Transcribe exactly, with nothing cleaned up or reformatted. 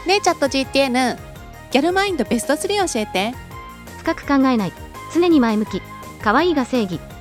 ねえチャット ジーティーエヌ、 ギャルマインドベストスリー教えて。 深く考えない、常に前向き、可愛いが正義。